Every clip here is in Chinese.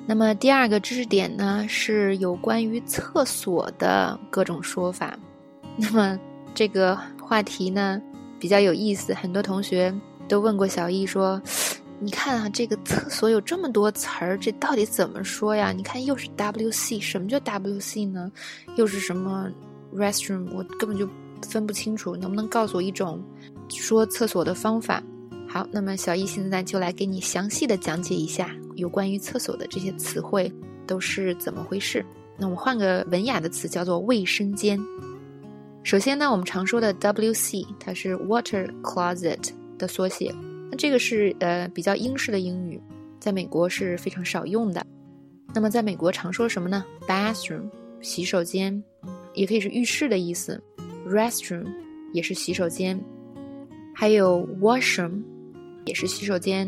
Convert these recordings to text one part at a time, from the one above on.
那么第二个知识点呢，是有关于厕所的各种说法。那么这个话题呢比较有意思，很多同学都问过小易说，你看啊，这个厕所有这么多词儿，这到底怎么说呀？你看又是 WC， 什么叫 WC 呢？又是什么 restroom， 我根本就分不清楚，能不能告诉我一种说厕所的方法？好，那么小易现在就来给你详细的讲解一下有关于厕所的这些词汇都是怎么回事。那我们换个文雅的词，叫做卫生间。首先呢，我们常说的 WC， 它是 Water Closet 的缩写。那这个是比较英式的英语，在美国是非常少用的。那么在美国常说什么呢？ Bathroom 洗手间，也可以是浴室的意思。 Restroom 也是洗手间，还有 Washroom 也是洗手间，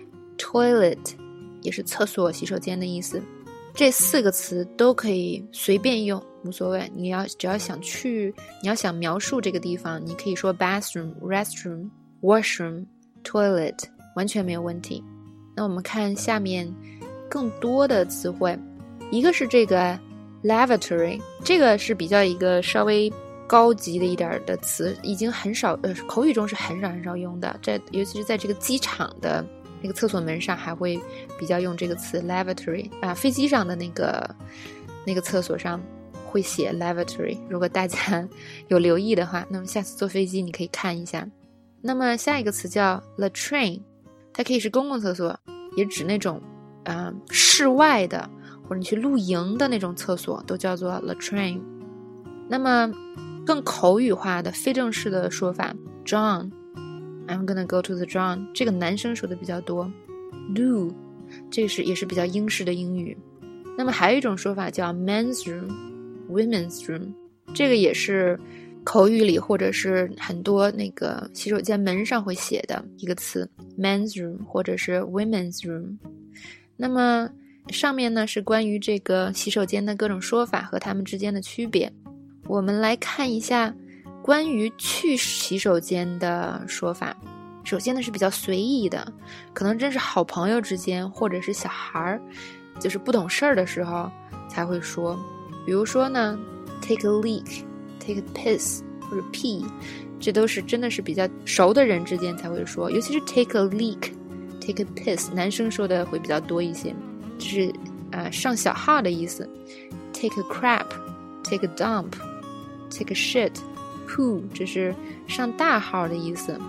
Toilet 也是厕所洗手间的意思。这4个词都可以随便用，无所谓，你只要想描述这个地方，你可以说 bathroom, restroom, washroom, toilet， 完全没有问题。那我们看下面更多的词汇，一个是这个 lavatory， 这个是比较一个稍微高级的一点的词，已经很少口语中是很少用的，尤其是在这个机场的那个厕所门上还会比较用这个词 lavatory 啊，飞机上的那个厕所上会写 lavatory， 如果大家有留意的话，那么下次坐飞机你可以看一下。那么下一个词叫 latrine， 它可以是公共厕所，也指那种室外的或者你去露营的那种厕所都叫做 latrine。 那么更口语化的非正式的说法 John， I'm gonna go to the John， 这个男生说的比较多。 Loo， 这个也是比较英式的英语。那么还有一种说法叫 men's room women's room， 这个也是口语里或者是很多那个洗手间门上会写的一个词 men's room 或者是 women's room。 那么上面呢是关于这个洗手间的各种说法和它们之间的区别。我们来看一下关于去洗手间的说法。首先呢是比较随意的，可能真是好朋友之间或者是小孩就是不懂事儿的时候才会说。比如说呢 take a leak, take a piss 或者 pee， 这都是真的是比较熟的人之间才会说，尤其是 take a leak, take a piss， 男生说的会比较多一些，这是上小号的意思。 take a crap, take a dump, take a shit, poo， 这是上大号的意思。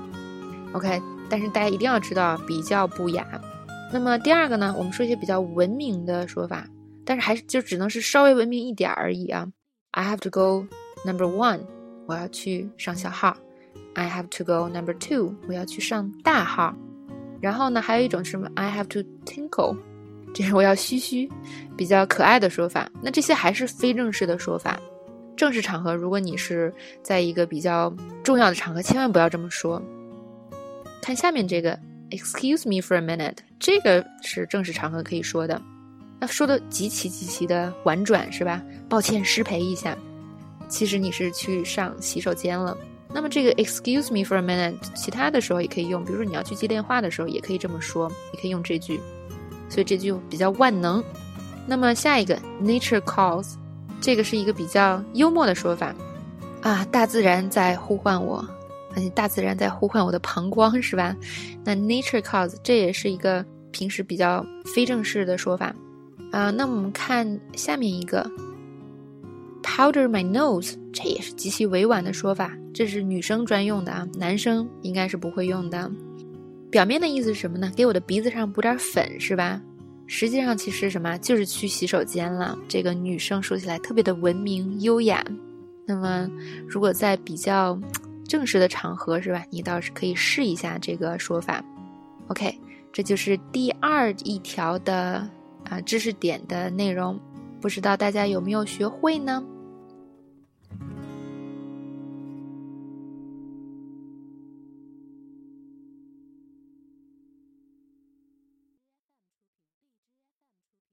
OK， 但是大家一定要知道比较不雅。那么第二个呢，我们说一些比较文明的说法，但是还是就只能是稍微文明一点而已啊。 I have to go number 1， 我要去上小号。 I have to go number 2， 我要去上大号。然后呢还有一种是什么 I have to tinkle， 这是我要嘘，比较可爱的说法。那这些还是非正式的说法。正式场合如果你是在一个比较重要的场合，千万不要这么说。看下面这个 Excuse me for a minute， 这个是正式场合可以说的，那说的极其的婉转是吧？抱歉失陪一下，其实你是去上洗手间了。那么这个 Excuse me for a minute 其他的时候也可以用，比如说你要去接电话的时候也可以这么说，也可以用这句，所以这句比较万能。那么下一个 Nature calls， 这个是一个比较幽默的说法啊，大自然在呼唤我，大自然在呼唤我的膀胱是吧？那 nature calls 这也是一个平时比较非正式的说法那我们看下面一个 powder my nose， 这也是极其委婉的说法，这是女生专用的男生应该是不会用的。表面的意思是什么呢？给我的鼻子上补点粉是吧？实际上其实什么就是去洗手间了，这个女生说起来特别的文明优雅。那么如果在比较正式的场合是吧，你倒是可以试一下这个说法。 OK， 这就是第2一条的知识点的内容，不知道大家有没有学会呢？